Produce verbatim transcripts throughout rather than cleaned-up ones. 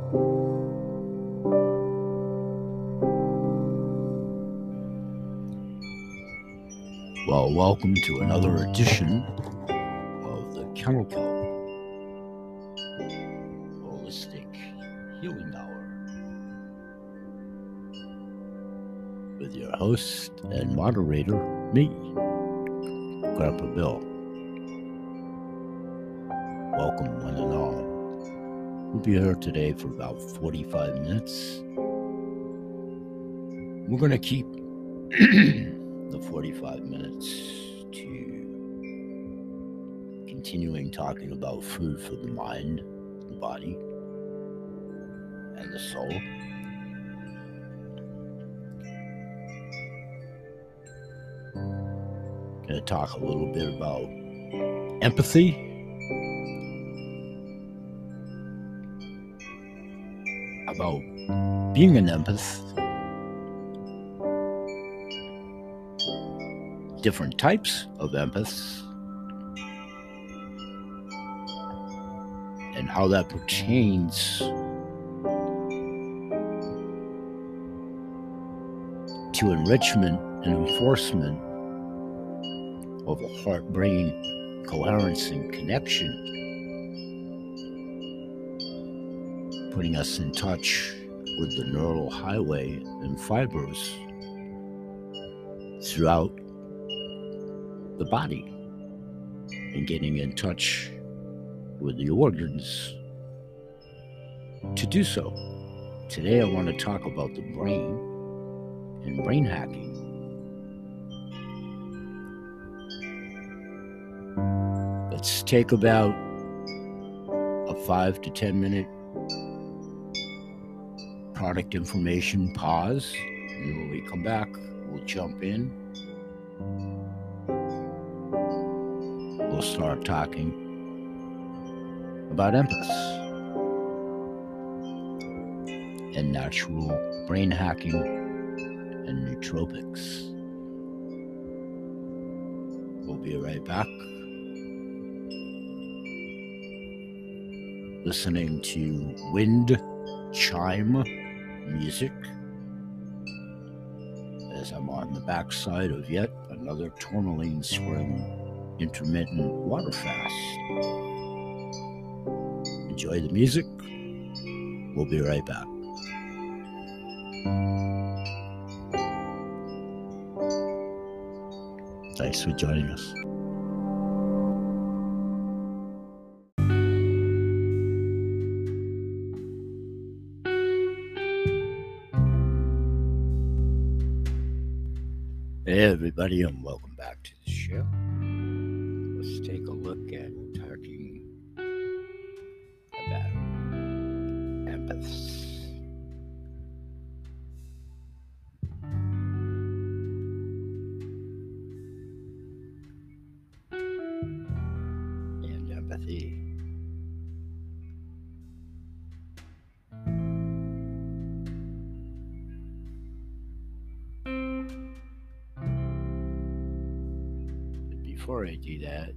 Well, welcome to another edition of the Kennel Kelp Holistic Healing Hour with your host and moderator, me, Grandpa Bill. Welcome, one and all. We'll be here today for about forty-five minutes. We're going to keep the forty-five minutes to continuing talking about food for the mind, the body, and the soul. Going to talk a little bit about empathy, about being an empath, different types of empaths, and how that pertains to enrichment and enforcement of a heart-brain coherence and connection, putting us in touch with the neural highway and fibers throughout the body and getting in touch with the organs to do so. Today I want to talk about the brain and brain hacking. Let's take about a five to ten minute product information pause, and when we come back, we'll jump in. We'll start talking about empaths and natural brain hacking and nootropics. We'll be right back. Listening to wind chime music as I'm on the backside of yet another Tourmaline Spring intermittent water fast. Enjoy the music. We'll be right back. Thanks for joining us. Hey everybody, and welcome back to the show. Let's take a look at talking about empaths. And empathy. But before I do that,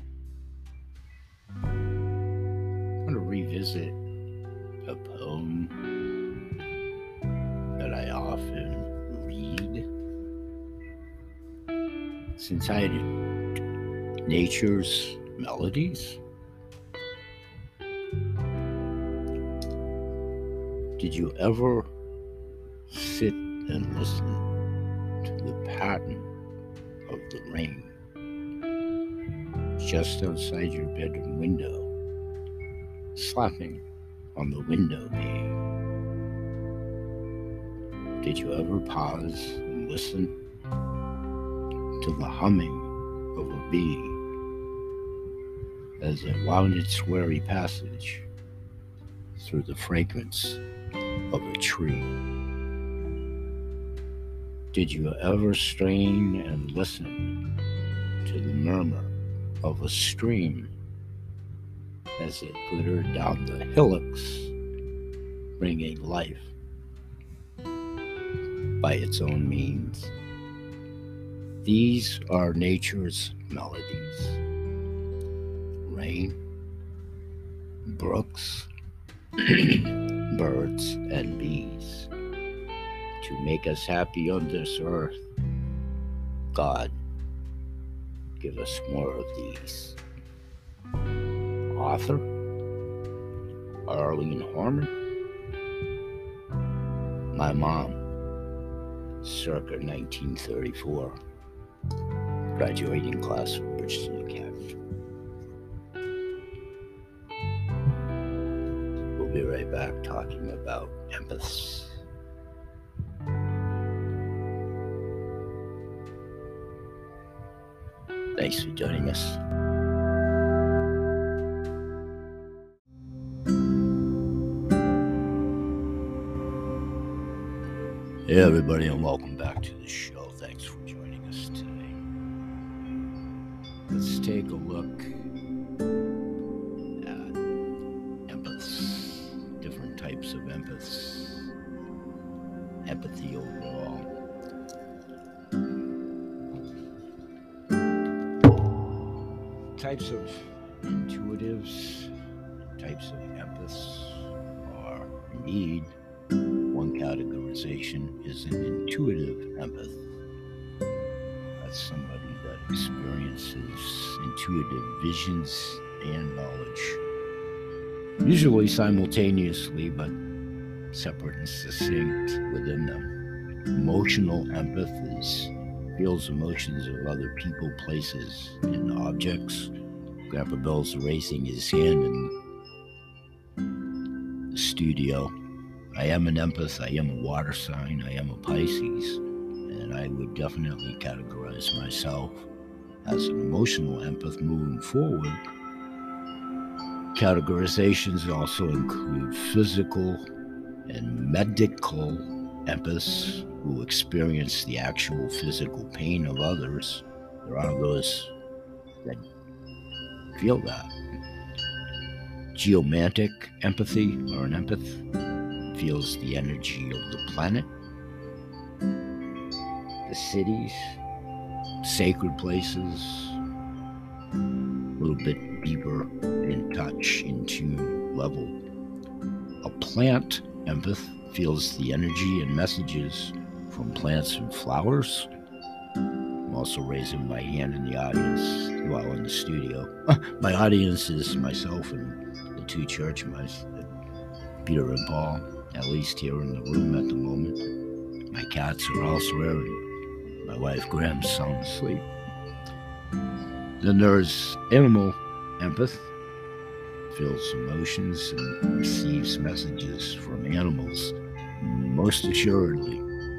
I'm going to revisit a poem that I often read. Since I did Nature's Melodies, did you ever sit and listen to the pattern of the rain just outside your bedroom window, slapping on the window pane? Did you ever pause and listen to the humming of a bee as it wound its weary passage through the fragrance of a tree? Did you ever strain and listen to the murmur of a stream as it glittered down the hillocks, bringing life by its own means? These are nature's melodies. Rain, brooks, birds and bees. To make us happy on this earth, God, give us more of these. Author Arlene Harmon. My mom, circa nineteen thirty-four, graduating class of Bridgeton Academy. We'll be right back talking about empaths. Thanks for joining us. Hey everybody, and welcome back to the show. Thanks for joining us today. Let's take a look at empaths, different types of empaths, empathy overall. Types of intuitives, types of empaths are indeed. One categorization is an intuitive empath. That's somebody that experiences intuitive visions and knowledge, usually simultaneously, but separate and succinct within them. Emotional empath is feels emotions of other people, places, and objects. Grandpa Bill's raising his hand in the studio. I am an empath, I am a water sign, I am a Pisces, and I would definitely categorize myself as an emotional empath moving forward. Categorizations also include physical and medical empaths who experience the actual physical pain of others. There are those that feel that. Geomantic empathy, or an empath, feels the energy of the planet, the cities, sacred places, a little bit deeper in touch, in tune level. A plant empath feels the energy and messages from plants and flowers. I'm also raising my hand in the audience, well, in the studio. My audience is myself and the two church mice, Peter and Paul, at least here in the room at the moment. My cats are elsewhere, and my wife Graham's sound asleep. Then there's animal empath, feels emotions and receives messages from animals, most assuredly.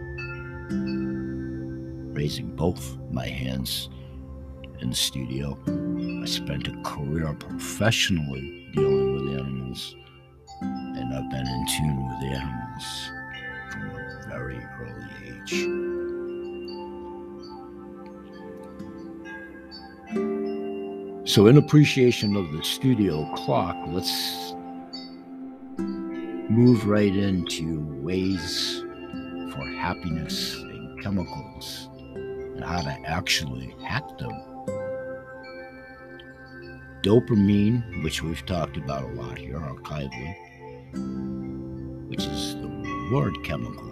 Raising both my hands in the studio. I spent a career professionally dealing with animals, and I've been in tune with animals from a very early age. So in appreciation of the studio clock, let's move right into ways for happiness and chemicals and how to actually hack them. Dopamine, which we've talked about a lot here archivally, which is the reward chemical,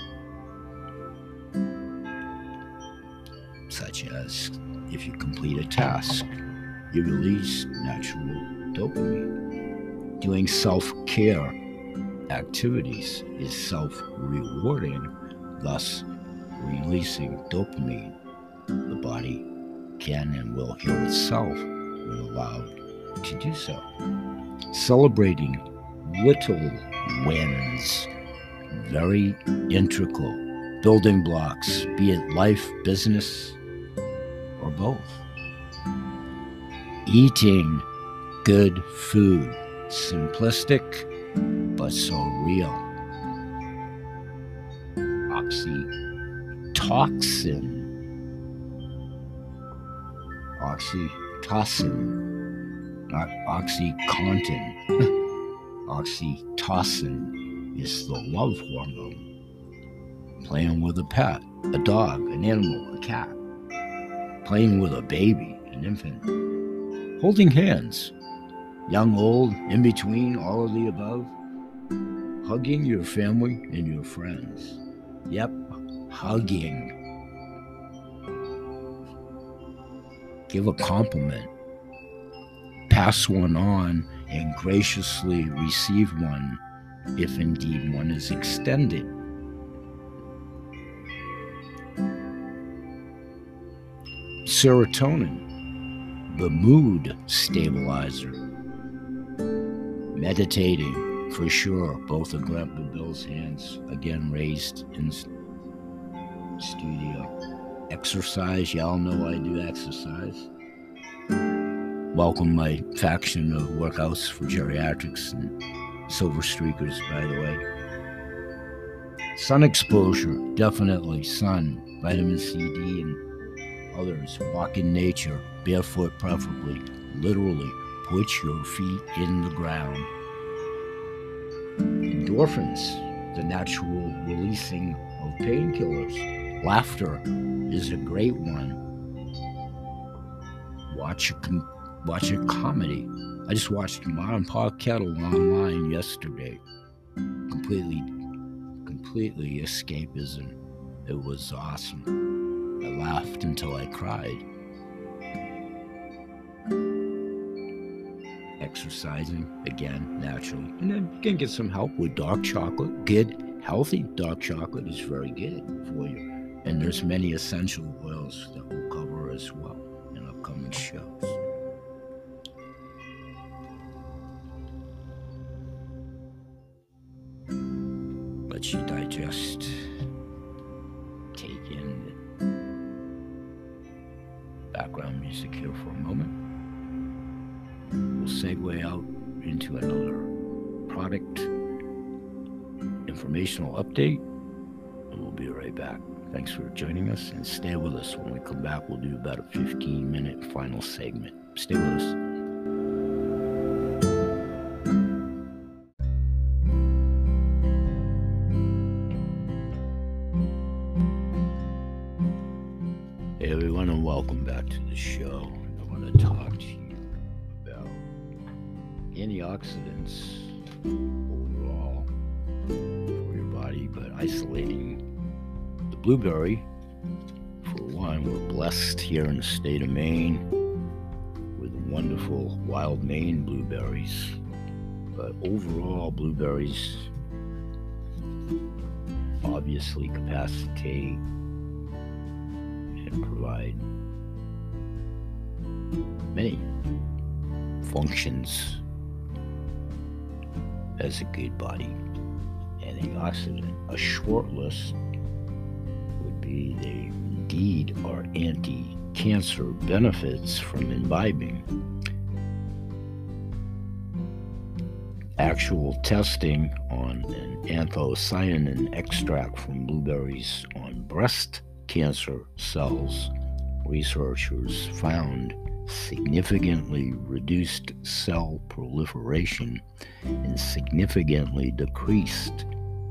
such as if you complete a task, you release natural dopamine. Doing self-care activities is self-rewarding, thus releasing dopamine. The body can and will heal itself when allowed to do so. Celebrating little wins, very integral building blocks, be it life, business, or both. Eating good food, simplistic but so real. Oxytocin, oxytocin, not OxyContin. Oxytocin is the love hormone. Playing with a pet, a dog, an animal, a cat. Playing with a baby, an infant. Holding hands, young, old, in between, all of the above. Hugging your family and your friends. Yep, hugging. Give a compliment. Pass one on and graciously receive one if indeed one is extended. Serotonin, the mood stabilizer. Meditating, for sure. Both of Grandpa Bill's hands again raised in studio. Exercise, y'all know I do exercise. Welcome my faction of workouts for geriatrics and silver streakers, by the way. Sun exposure, definitely sun, vitamin C, D, and others. Walk in nature, barefoot preferably. Literally, put your feet in the ground. Endorphins, the natural releasing of painkillers. Laughter is a great one. Watch a, com- watch a comedy. I just watched Modern Pa Kettle online yesterday. Completely, completely escapism. It was awesome. I laughed until I cried. Exercising, again, naturally. And then you can get some help with dark chocolate. Good, healthy dark chocolate is very good for you. And there's many essential oils that we'll cover as well in upcoming shows. Let you digest. Take in background music here for a moment. We'll segue out into another product informational update, and we'll be right back. Thanks for joining us, and stay with us. When we come back, we'll do about a fifteen minute final segment. Stay with us. Hey everyone, and welcome back to the show. I want to talk to you about antioxidants overall for your body, but isolating the blueberry. For one, we're blessed here in the state of Maine with wonderful wild Maine blueberries, but overall blueberries obviously capacitate and provide many functions as a good body antioxidant. A short list would be they indeed are anti-cancer benefits from imbibing. Actual testing on an anthocyanin extract from blueberries on breast cancer cells, researchers found significantly reduced cell proliferation and significantly decreased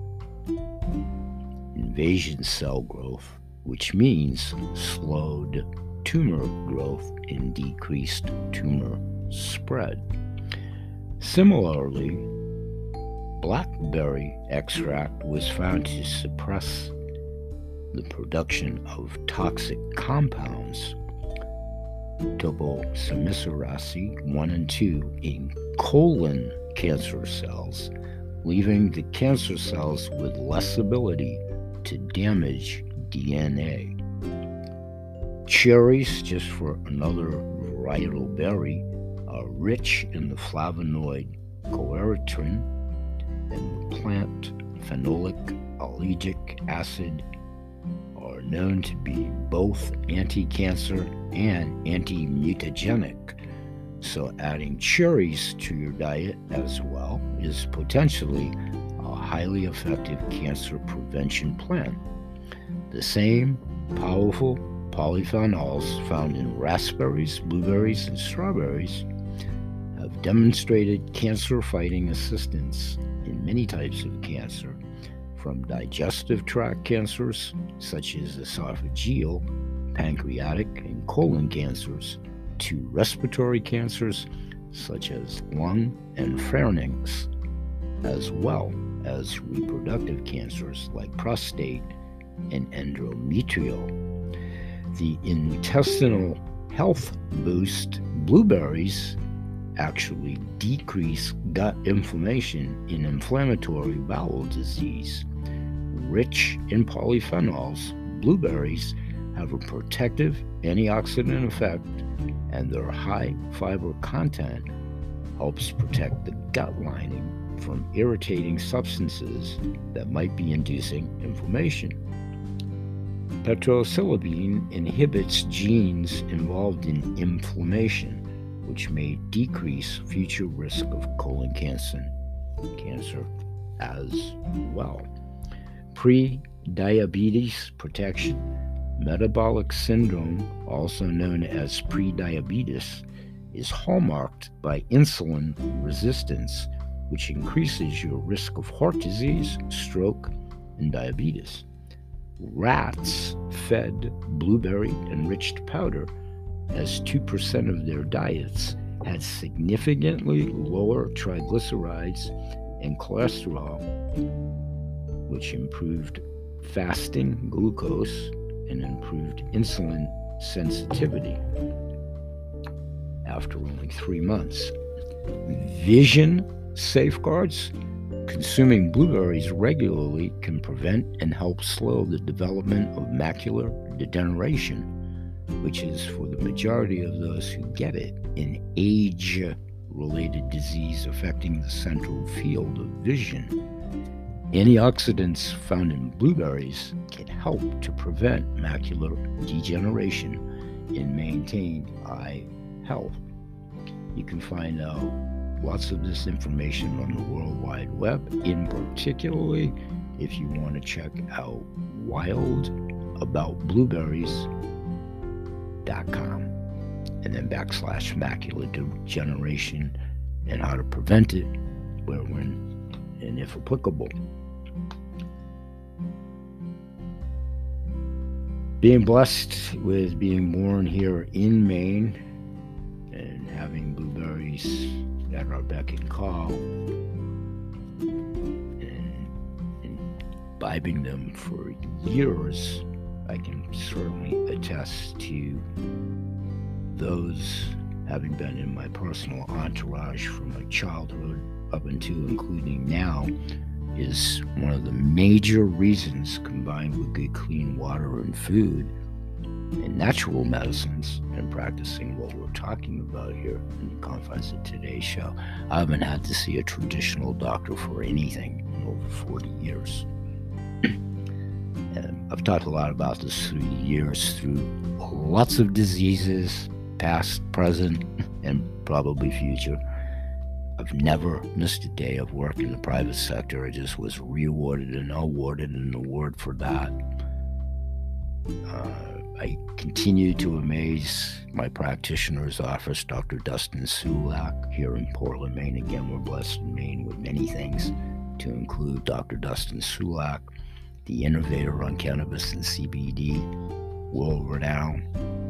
invasion cell growth, which means slowed tumor growth and decreased tumor spread. Similarly, blackberry extract was found to suppress the production of toxic compounds, topoisomerase one and two, in colon cancer cells, leaving the cancer cells with less ability to damage D N A. Cherries, just for another varietal berry, are rich in the flavonoid quercetin and the plant phenolic allergic acid are known to be both anti-cancer and anti-mutagenic. So adding cherries to your diet as well is potentially a highly effective cancer prevention plan. The same powerful polyphenols found in raspberries, blueberries, and strawberries have demonstrated cancer-fighting assistance in many types of cancer, from digestive tract cancers such as esophageal, pancreatic, and colon cancers to respiratory cancers such as lung and pharynx. as well as reproductive cancers like prostate and endometrial. The intestinal health boost blueberries actually decrease gut inflammation in inflammatory bowel disease. Rich in polyphenols, blueberries have a protective antioxidant effect, and their high fiber content helps protect the gut lining from irritating substances that might be inducing inflammation. Petrosilibine inhibits genes involved in inflammation, which may decrease future risk of colon cancer, cancer as well. Pre-diabetes protection. Metabolic syndrome, also known as prediabetes, is hallmarked by insulin resistance, which increases your risk of heart disease, stroke, and diabetes. Rats fed blueberry-enriched powder as two percent of their diets had significantly lower triglycerides and cholesterol, which improved fasting glucose and improved insulin sensitivity after only three months. Vision safeguards. Consuming blueberries regularly can prevent and help slow the development of macular degeneration, which is, for the majority of those who get it, an age-related disease affecting the central field of vision. Antioxidants found in blueberries can help to prevent macular degeneration and maintain eye health. You can find out lots of this information on the World Wide Web, in particularly if you want to check out wild about blueberries dot com and then backslash macular degeneration and how to prevent it, where, when, and if applicable. Being blessed with being born here in Maine and having blueberries at our beck and call and, and imbibing them for years, I can certainly attest to those having been in my personal entourage from my childhood up until including now, is one of the major reasons, combined with good clean water and food and natural medicines, and practicing what we're talking about here in the confines of today's show. I haven't had to see a traditional doctor for anything in over forty years. And I've talked a lot about this through the years, through lots of diseases, past, present, and probably future. I've never missed a day of work in the private sector. I just was rewarded and awarded an award for that. Uh, I continue to amaze my practitioner's office, Doctor Dustin Sulak, here in Portland, Maine. Again, we're blessed in Maine with many things, to include Doctor Dustin Sulak, the innovator on cannabis and C B D, world-renowned.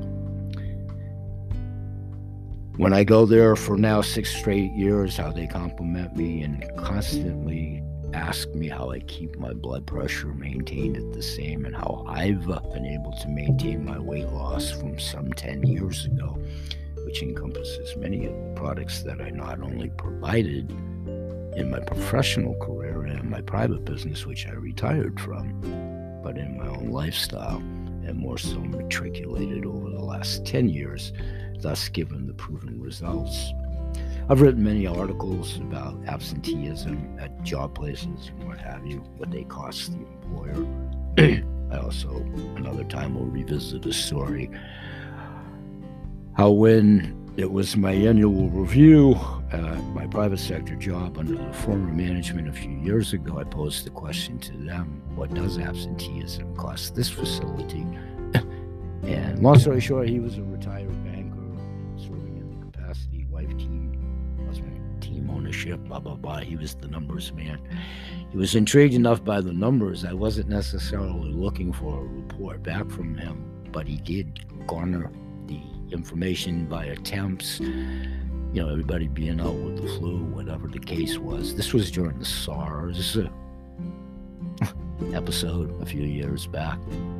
When I go there for now six straight years, how they compliment me and constantly ask me how I keep my blood pressure maintained at the same, and how I've been able to maintain my weight loss from some ten years ago, which encompasses many of the products that I not only provided in my professional career and in my private business, which I retired from, but in my own lifestyle, and more so matriculated over the last ten years, thus given the proven results. I've written many articles about absenteeism at job places and what have you, what they cost the employer. I also, another time, will revisit a story how when it was my annual review at my private sector job under the former management a few years ago, I posed the question to them, what does absenteeism cost this facility? And long story short, he was a retired banker serving in the capacity, wife, team, husband, team ownership, blah, blah, blah. He was the numbers man. He was intrigued enough by the numbers. I wasn't necessarily looking for a report back from him, but he did garner the information by attempts you know, everybody being out with the flu, whatever the case was. This was during the SARS episode a few years back.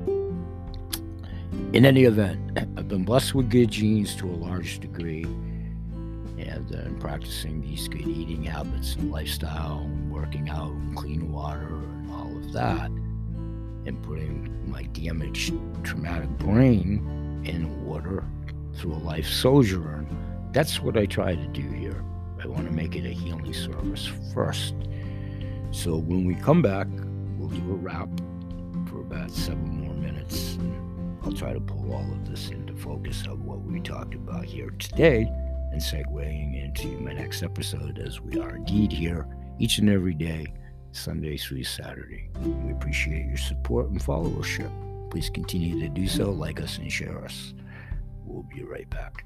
In any event, I've been blessed with good genes to a large degree, and uh, practicing these good eating habits and lifestyle, and working out, and clean water, and all of that, and putting my damaged, traumatic brain in order through a life sojourn. That's what I try to do here. I want to make it a healing service first. So when we come back, we'll do a wrap for about seven more minutes. And I'll try to pull all of this into focus of what we talked about here today, and segueing into my next episode, as we are indeed here each and every day, Sunday through Saturday. We appreciate your support and followership. Please continue to do so, like us and share us. We'll be right back.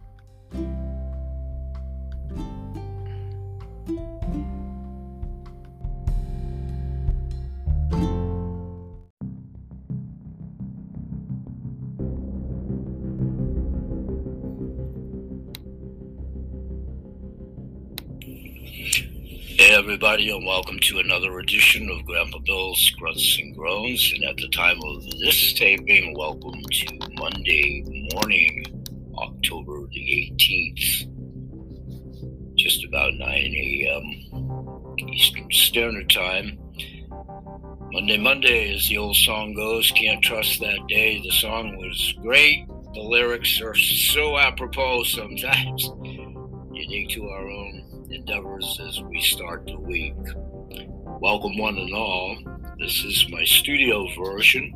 Hey everybody, and welcome to another edition of Grandpa Bill's Grunts and Groans. And at the time of this taping, welcome to Monday morning, October the eighteenth, just about nine a.m. Eastern Standard Time. Monday, Monday, as the old song goes, can't trust that day. The song was great. The lyrics are so apropos sometimes, unique to our own endeavors as we start the week. Welcome one and all. This is my studio version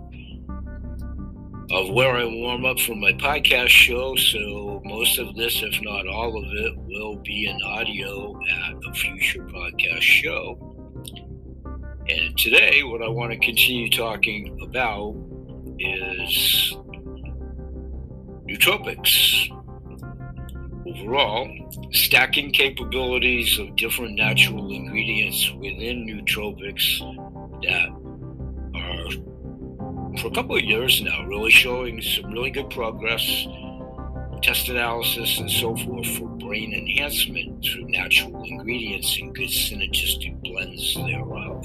of where I warm up for my podcast show, so most of this, if not all of it, will be in audio at a future podcast show. And today, what I want to continue talking about is nootropics. Overall, stacking capabilities of different natural ingredients within nootropics that are, for a couple of years now, really showing some really good progress, test analysis and so forth for brain enhancement through natural ingredients and good synergistic blends thereof.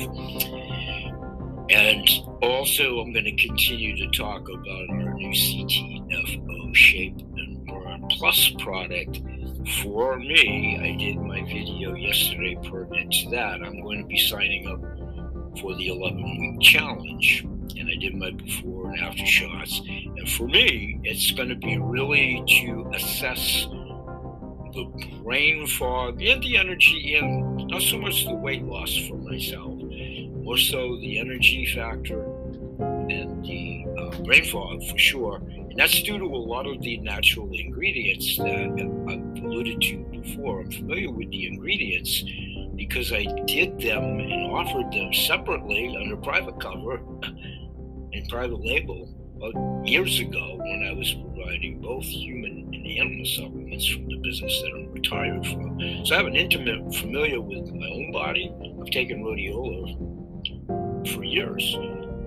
And also, I'm going to continue to talk about our new C T F O Shape and Burn Plus product. For me, I did my video yesterday pertinent to that. I'm going to be signing up for the eleven-week challenge, and I did my before and after shots. And for me, it's going to be really to assess the brain fog and the energy, and not so much the weight loss for myself, more so the energy factor and the uh, brain fog for sure. And that's due to a lot of the natural ingredients that I've alluded to before. I'm familiar with the ingredients because I did them and offered them separately under private cover and private label about years ago when I was providing both human and animal supplements from the business that I'm retired from. So I have an intimate familiar with my own body. I've taken rhodiola for years.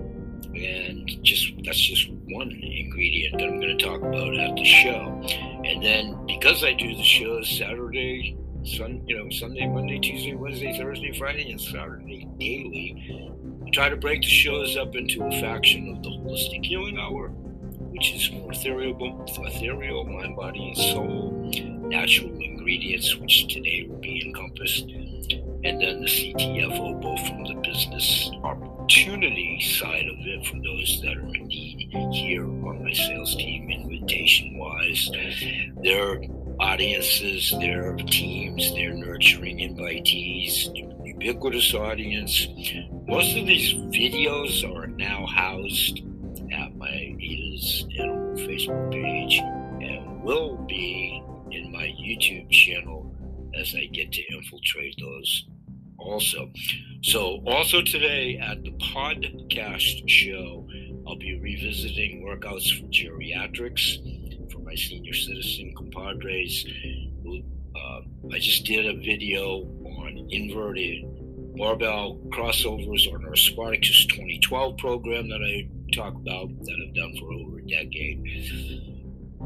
And just that's just one ingredient that I'm going to talk about at the show. And then because I do the shows Saturday, Sun, you know, Sunday, Monday, Tuesday, Wednesday, Thursday, Friday, and Saturday daily, I try to break the shows up into a faction of the Holistic Healing Hour, which is more ethereal, ethereal, mind, body, and soul, natural ingredients, which today will be encompassed, and then the C T F O, both from the business opportunity side of it, for those that are indeed here on my sales team, invitation-wise, their audiences, their teams, their nurturing invitees, ubiquitous audience. Most of these videos are now housed at my Ada's Animal Facebook page and will be in my YouTube channel as I get to infiltrate those also. So also today at the podcast show, I'll be revisiting workouts for geriatrics for my senior citizen compadres. Uh, I just did a video on inverted barbell crossovers on our Spartacus twenty twelve program that I talk about, that I've done for over a decade.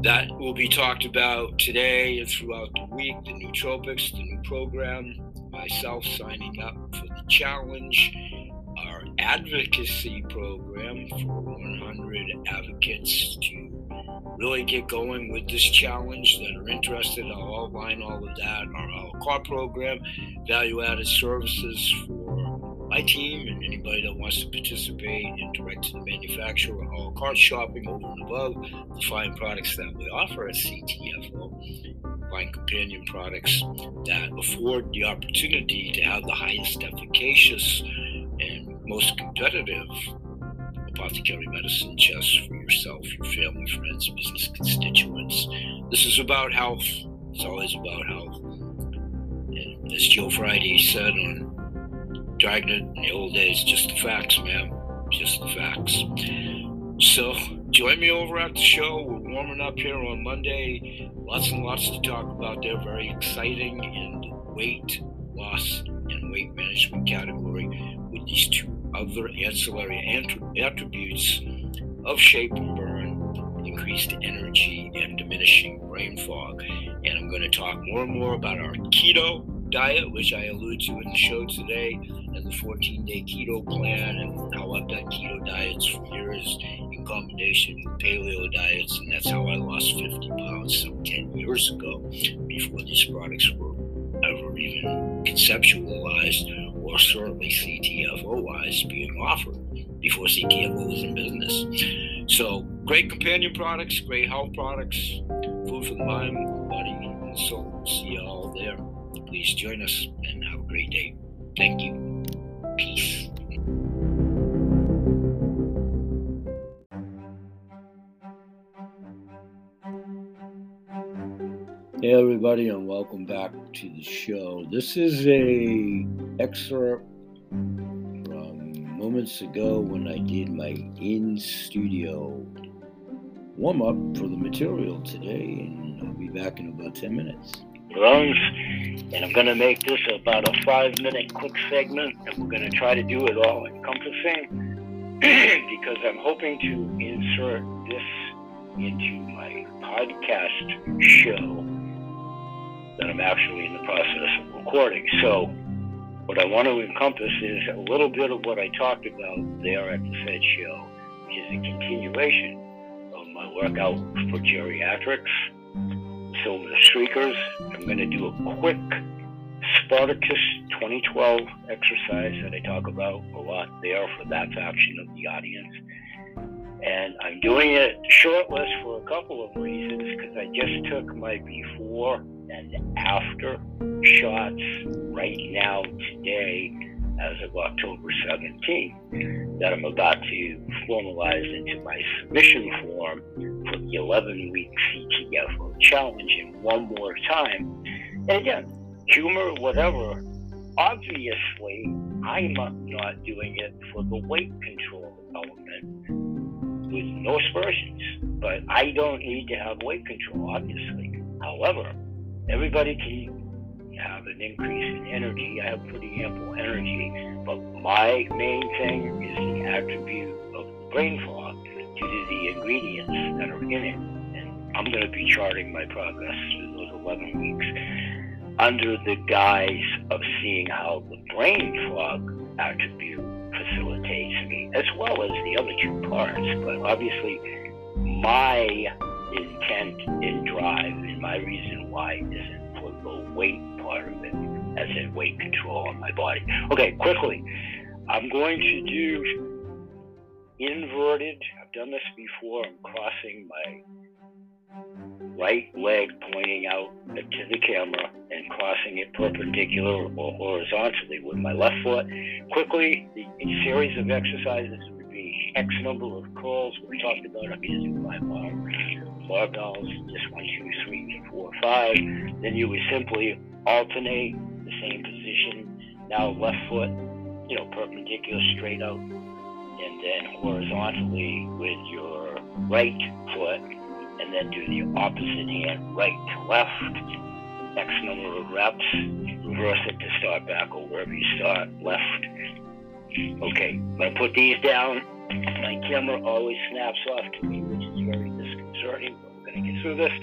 That will be talked about today and throughout the week. The nootropics, the new program, myself signing up for the challenge, our advocacy program for one hundred advocates to really get going with this challenge that are interested. I'll outline all of that. Our a la carte program, value-added services for my team and anybody that wants to participate in direct-to-the-manufacturer a la carte shopping over and above the fine products that we offer at C T F O, fine companion products that afford the opportunity to have the highest efficacious and most competitive apothecary medicine just for yourself, your family, friends, business constituents. This is about health. It's always about health. And as Joe Friday said on Dragnet in the old days, just the facts, man. Just the facts. So join me over at the show. We're warming up here on Monday. Lots and lots to talk about. They're very exciting in the weight loss and weight management category with these two other ancillary attributes of shape and burn, increased energy, and diminishing brain fog. And I'm going to talk more and more about our keto diet, which I allude to in the show today, and the fourteen-day keto plan, and how I've done keto diets for years in combination with paleo diets, and that's how I lost fifty pounds some ten years ago, before these products were ever even conceptualized, or certainly C T F O-wise being offered, before C T F O was in business. So, great companion products, great health products, food for the mind, the body, and the soul. See you all there. Please join us and have a great day. Thank you. Peace. Hey everybody, and welcome back to the show. This is a excerpt from moments ago when I did my in-studio warm-up for the material today, and I'll be back in about ten minutes. Runs, and I'm going to make this about a five-minute quick segment, and we're going to try to do it all encompassing because I'm hoping to insert this into my podcast show that I'm actually in the process of recording. So what I want to encompass is a little bit of what I talked about there at the Fed show, which is a continuation of my workout for geriatrics, Silver Streakers. I'm going to do a quick Spartacus twenty twelve exercise that I talk about a lot there for that faction of the audience. And I'm doing it shortless for a couple of reasons, because I just took my before and after shots right now today as of October seventeenth that I'm about to formalize into my submission form for the eleven-week C T F O challenge. And one more time, and again, humor, whatever, obviously I'm not doing it for the weight control element with no aspersions, but I don't need to have weight control, obviously. However, everybody can have an increase in energy. I have pretty ample energy, but my main thing is the attribute of the brain fog due to the ingredients that are in it. And I'm going to be charting my progress through those eleven weeks under the guise of seeing how the brain fog attribute facilitates me, as well as the other two parts. But obviously, my intent and drive and my reason why isn't for the weight part of it, as in weight control on my body. Okay, quickly, I'm going to do inverted. I've done this before. I'm crossing my right leg pointing out to the camera and crossing it perpendicular or horizontally with my left foot. Quickly, the a series of exercises would be X number of curls. We talked about I'm using my bar, barbells, just one, two, three, four, five. Then you would simply alternate the same position. Now left foot, you know, perpendicular straight out, and then horizontally with your right foot, and then do the opposite hand, right to left, X number of reps, reverse it to start back or wherever you start, left. Okay, I'm going to put these down. My camera always snaps off to me, which is very disconcerting, but we're going to get through this.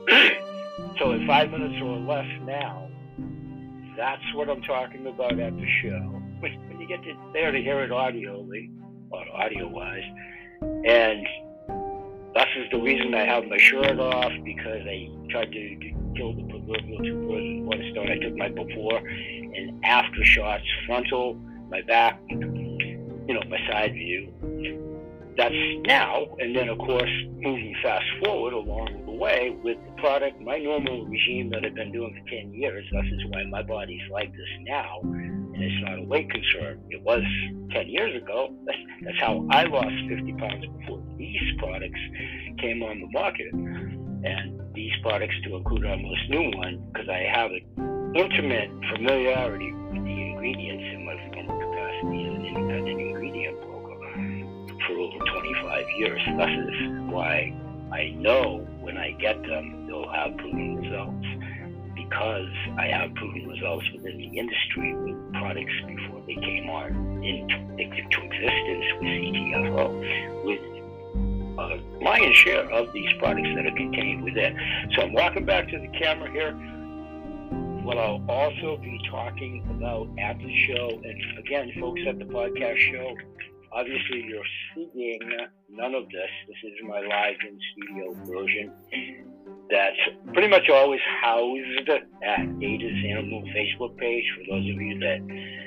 So in five minutes or less now, that's what I'm talking about at the show. When you get to there to hear it audioly, or audio-wise, and this is the reason I have my shirt off, because I tried to, to kill the proverbial two birds with one stone. I took my before and after shots, frontal, my back, you know, my side view. That's now, and then of course, moving fast forward along the way with the product, my normal regime that I've been doing for ten years, this is why my body's like this now, and it's not a weight concern. It was ten years ago. That's, that's how I lost fifty pounds before these products came on the market. And these products, to include our most new one, because I have an intimate familiarity with the ingredients in my former capacity as an independent ingredient broker for over twenty-five years. This is why I know when I get them, they'll have proven results, because I have proven results within the industry with products before they came on into, into existence with C T F O, with a lion's share of these products that are contained within. So I'm walking back to the camera here. What I'll also be talking about at the show, and again, folks at the podcast show, obviously you're seeing none of this. This is my live in-studio version that's pretty much always housed at Ada's Animal Facebook page, for those of you that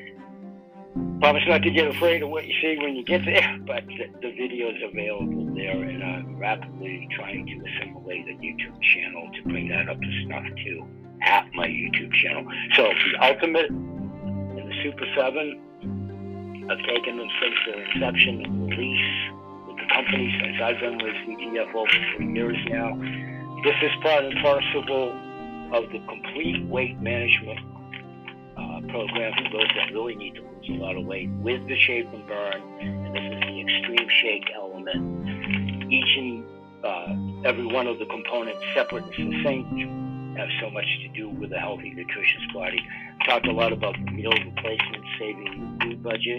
promise not to get afraid of what you see when you get there, but the, the video is available there, and I'm rapidly trying to assimilate a YouTube channel to bring that up to snuff too at my YouTube channel. So the Ultimate and the Super seven, I've taken them since their inception and release with the company, since I've been with C T F O for three years now. This is part and parcel of the complete weight management uh, program for those that really need to lose a lot of weight with the Shape and Burn, and this is the Extreme Shake element. Each and uh, every one of the components, separate and succinct, have so much to do with a healthy, nutritious body. I talked a lot about meal replacement, saving the food budget,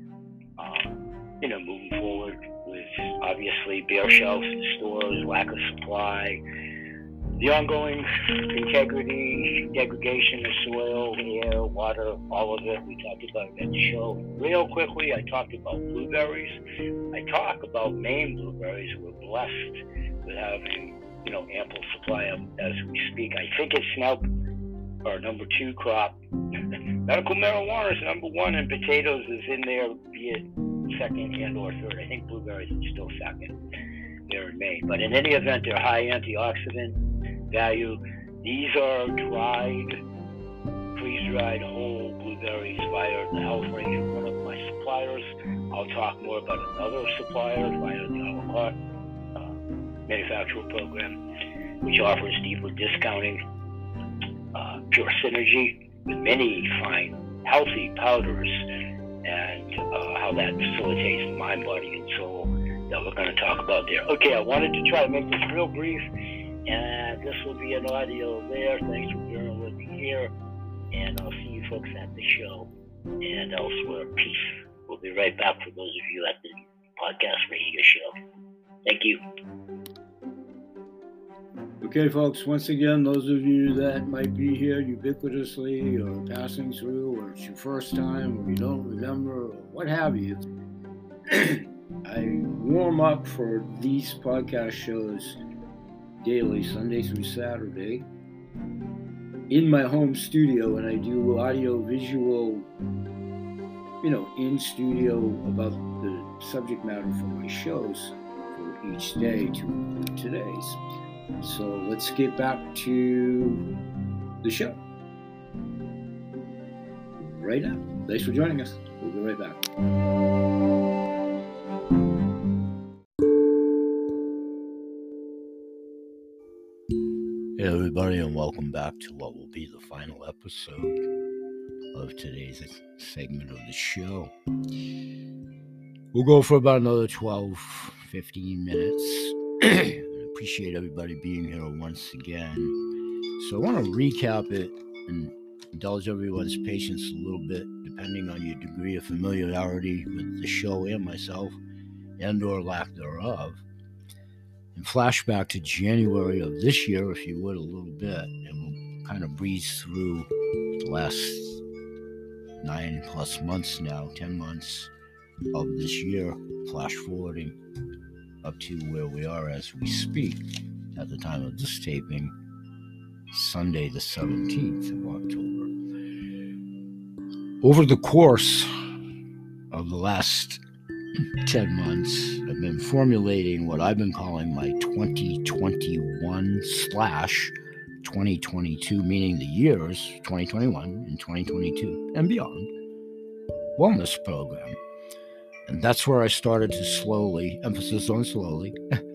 um, you know, moving forward with obviously bare shelves in stores, lack of supply, the ongoing integrity, degradation of soil, air, water, all of it. We talked about it at the show. Real quickly, I talked about blueberries. I talk about Maine blueberries. We're blessed with having, you know, ample supply of them as we speak. I think it's now our number two crop. Medical marijuana is number one, and potatoes is in there, be it second and or third. I think blueberries is still second there in Maine. But in any event, they're high antioxidant value. These are dried, freeze-dried whole blueberries via the Health Range of one of my suppliers. I'll talk more about another supplier via the a la carte uh, manufacturer program, which offers deeper discounting, uh, pure synergy with many fine, healthy powders, and uh, how that facilitates mind, body, and soul that we're going to talk about there. Okay, I wanted to try to make this real brief, and this will be an audio there. Thanks for bearing with me here, and I'll see you folks at the show and elsewhere. Peace. We'll be right back for those of you at the podcast radio show. Thank you. Okay, folks, once again, those of you that might be here ubiquitously or passing through, or it's your first time, or you don't remember, or what have you, I warm up for these podcast shows daily, Sunday through Saturday, in my home studio, and I do audio visual, you know, in studio about the subject matter for my shows for each day to include today's. So let's get back to the show right now. Thanks for joining us. We'll be right back. Hey everybody, and welcome back to what will be the final episode of today's segment of the show. We'll go for about another twelve, fifteen minutes. I appreciate everybody being here once again. So I want to recap it and indulge everyone's patience a little bit, depending on your degree of familiarity with the show and myself, and or lack thereof. and flashback to January of this year, if you would, a little bit, and we'll kind of breeze through the last nine plus months now, ten months of this year, flash forwarding up to where we are as we speak at the time of this taping, Sunday the seventeenth of October. Over the course of the last ten months, I've been formulating what I've been calling my twenty twenty-one slash twenty twenty-two, meaning the years twenty twenty-one and twenty twenty-two and beyond, wellness program. And that's where I started to slowly, emphasis on slowly,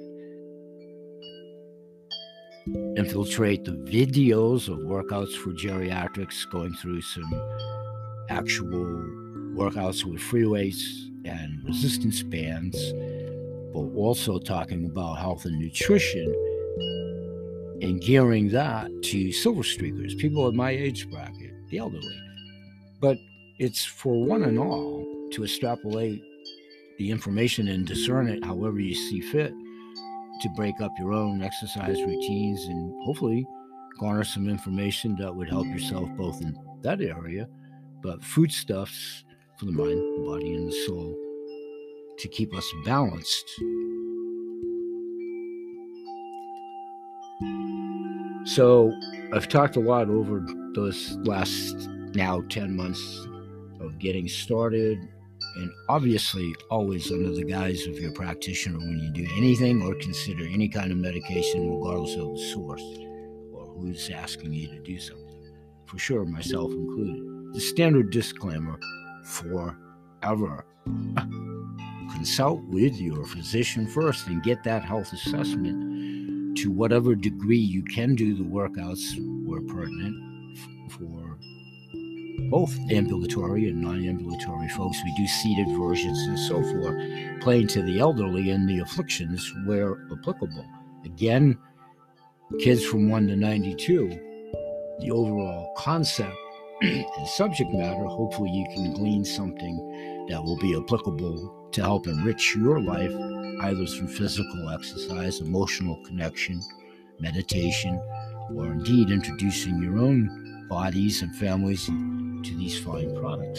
infiltrate the videos of workouts for geriatrics, going through some actual workouts with free weights and resistance bands, but also talking about health and nutrition and gearing that to silver streakers, people in my age bracket, the elderly. But it's for one and all to extrapolate the information and discern it however you see fit to break up your own exercise routines and hopefully garner some information that would help yourself both in that area, but foodstuffs for the mind, the body, and the soul to keep us balanced. So I've talked a lot over those last now ten months of getting started, and obviously always under the guise of your practitioner when you do anything or consider any kind of medication, regardless of the source or who's asking you to do something. For sure, myself included. The standard disclaimer forever. Consult with your physician first and get that health assessment. To whatever degree you can do the workouts where pertinent for both ambulatory and non-ambulatory folks. We do seated versions and so forth, playing to the elderly and the afflictions where applicable. Again, kids from one to ninety-two, the overall concept and subject matter, hopefully you can glean something that will be applicable to help enrich your life, either through physical exercise, emotional connection, meditation, or indeed introducing your own bodies and families to these fine products.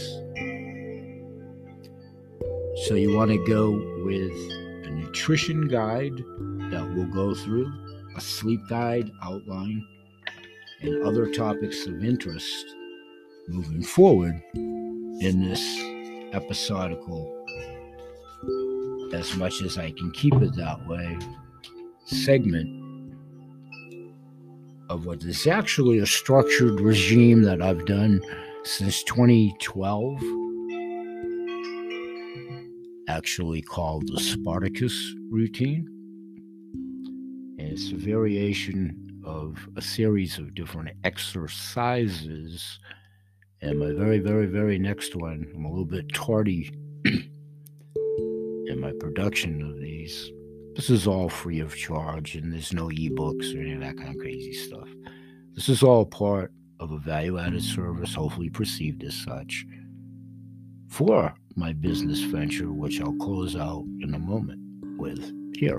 So you want to go with a nutrition guide that we'll go through, a sleep guide outline, and other topics of interest moving forward in this episodical, as much as I can keep it that way, segment of what is actually a structured regime that I've done since twenty twelve, actually called the Spartacus routine. And it's a variation of a series of different exercises. And my very, very, very next one, I'm a little bit tardy in my production of these. This is all free of charge, and there's no ebooks or any of that kind of crazy stuff. This is all part of a value-added service, hopefully perceived as such, for my business venture, which I'll close out in a moment with here.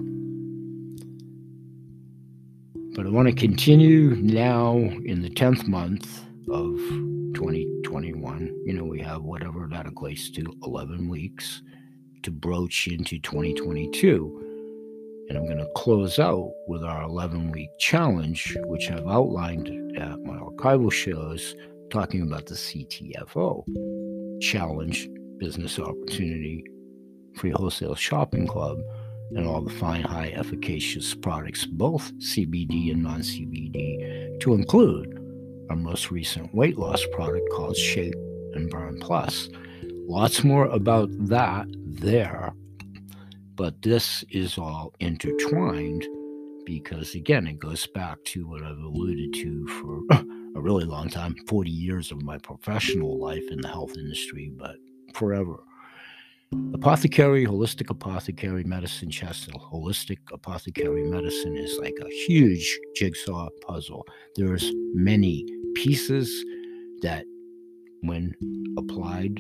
But I want to continue now in the tenth month of twenty twenty-one. You know, we have whatever that equates to, eleven weeks to broach into twenty twenty-two. And I'm going to close out with our eleven-week challenge, which I've outlined at my archival shows, talking about the C T F O challenge, business opportunity, free wholesale shopping club, and all the fine, high, efficacious products, both C B D and non-C B D, to include our most recent weight loss product called Shape and Burn Plus. Lots more about that there. But this is all intertwined because, again, it goes back to what I've alluded to for a really long time, forty years of my professional life in the health industry, but forever. Apothecary, holistic apothecary medicine, Chester, holistic apothecary medicine is like a huge jigsaw puzzle. There's many pieces that, when applied,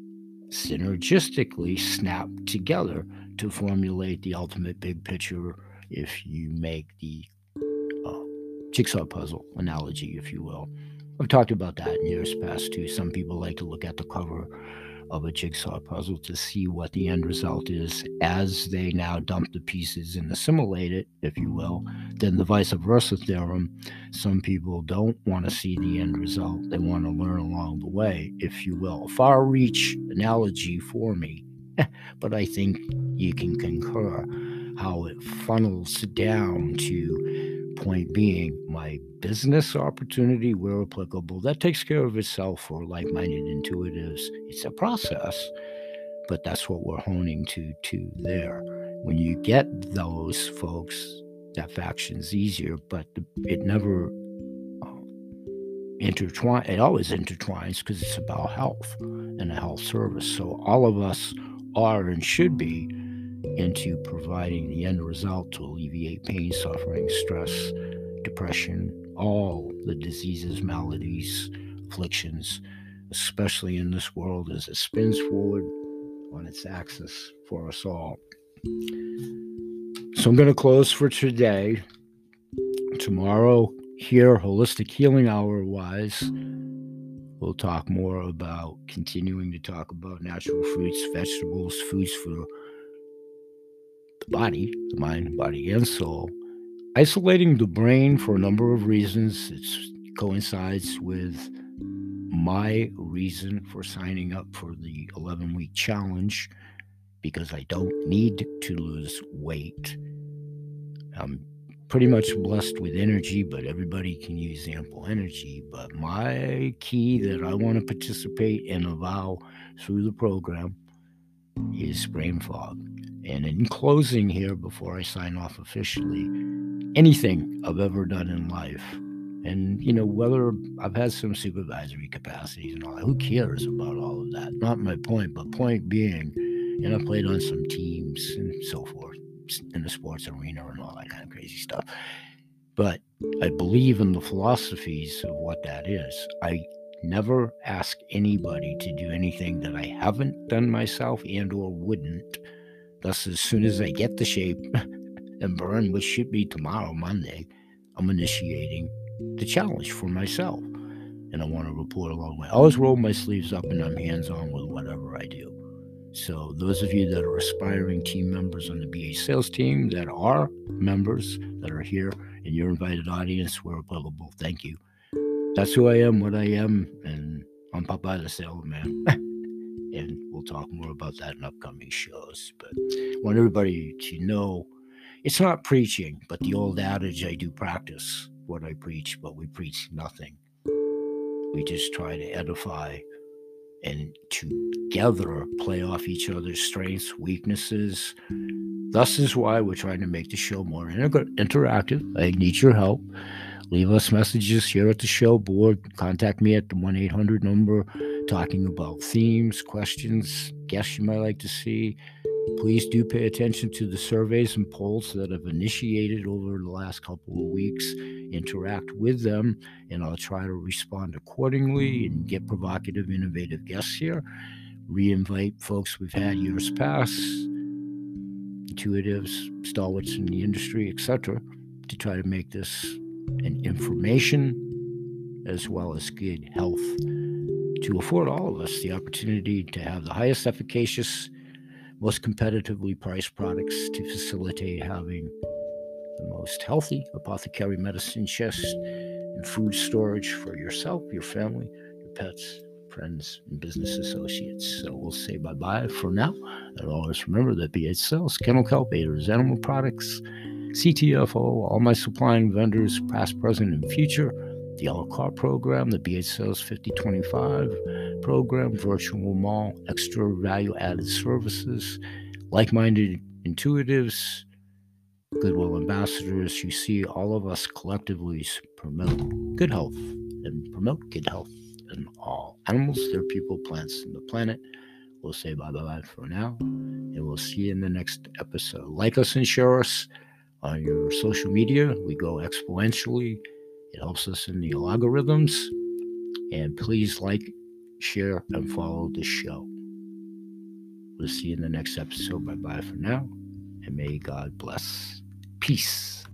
synergistically snap together to formulate the ultimate big picture if you make the uh, jigsaw puzzle analogy, if you will. I've talked about that in years past too. Some people like to look at the cover of a jigsaw puzzle to see what the end result is as they now dump the pieces and assimilate it, if you will. Then the vice versa theorem, some people don't want to see the end result. They want to learn along the way, if you will. A far-reach analogy for me, but I think you can concur how it funnels down to point being my business opportunity where applicable. That takes care of itself for like-minded intuitives. It's a process, but that's what we're honing to to there. When you get those folks, that faction's easier, but it never uh, intertwines. It always intertwines because it's about health and a health service. So all of us are and should be into providing the end result to alleviate pain, suffering, stress, depression, all the diseases, maladies, afflictions, especially in this world as it spins forward on its axis for us all. So I'm going to close for today. Tomorrow, here, Holistic Healing Hour wise, we'll talk more about continuing to talk about natural fruits, vegetables, foods for the body, the mind, body, and soul. Isolating the brain for a number of reasons. It coincides with my reason for signing up for the eleven-week challenge, because I don't need to lose weight. I'm pretty much blessed with energy, but everybody can use ample energy. But my key that I want to participate and avow through the program is brain fog. And in closing here, before I sign off officially, anything I've ever done in life, and, you know, whether I've had some supervisory capacities and all that, who cares about all of that? Not my point, but point being, and I played on some teams and so forth in the sports arena and all that kind of crazy stuff. But I believe in the philosophies of what that is. I never ask anybody to do anything that I haven't done myself and or wouldn't. Thus, as soon as I get the shape and burn, which should be tomorrow, Monday, I'm initiating the challenge for myself. And I want to report along the way. I always roll my sleeves up and I'm hands-on with whatever I do. So those of you that are aspiring team members on the B H sales team, that are members that are here in your invited audience, where applicable, thank you. That's who I am, what I am, and I'm Popeye the Salesman. And we'll talk more about that in upcoming shows. But I want everybody to know it's not preaching, but the old adage, I do practice what I preach, but we preach nothing. We just try to edify and together play off each other's strengths, weaknesses. Thus is why we're trying to make the show more inter- interactive. I need your help. Leave us messages here at the show board. Contact me at the one eight hundred number, talking about themes, questions, guests you might like to see. Please do pay attention to the surveys and polls that I've initiated over the last couple of weeks. Interact with them, and I'll try to respond accordingly and get provocative, innovative guests here. Re-invite folks we've had years past, intuitives, stalwarts in the industry, et cetera, to try to make this an information as well as good health to afford all of us the opportunity to have the highest efficacious, most competitively priced products to facilitate having the most healthy apothecary medicine chest and food storage for yourself, your family, your pets, friends, and business associates. So we'll say bye-bye for now. And always remember that B H Sales, Kennel Kelp Aiders, Animal Products, C T F O, all my supplying vendors, past, present, and future, the a la carte program, the B H Sales fifty twenty-five program, virtual mall, extra value-added services, like-minded intuitives, goodwill ambassadors. You see, all of us collectively promote good health and promote good health in all animals, their people, plants, and the planet. We'll say bye-bye for now, and we'll see you in the next episode. Like us and share us on your social media. We go exponentially. It helps us in the algorithms. And please like, share, and follow the show. We'll see you in the next episode. Bye-bye for now. And may God bless. Peace.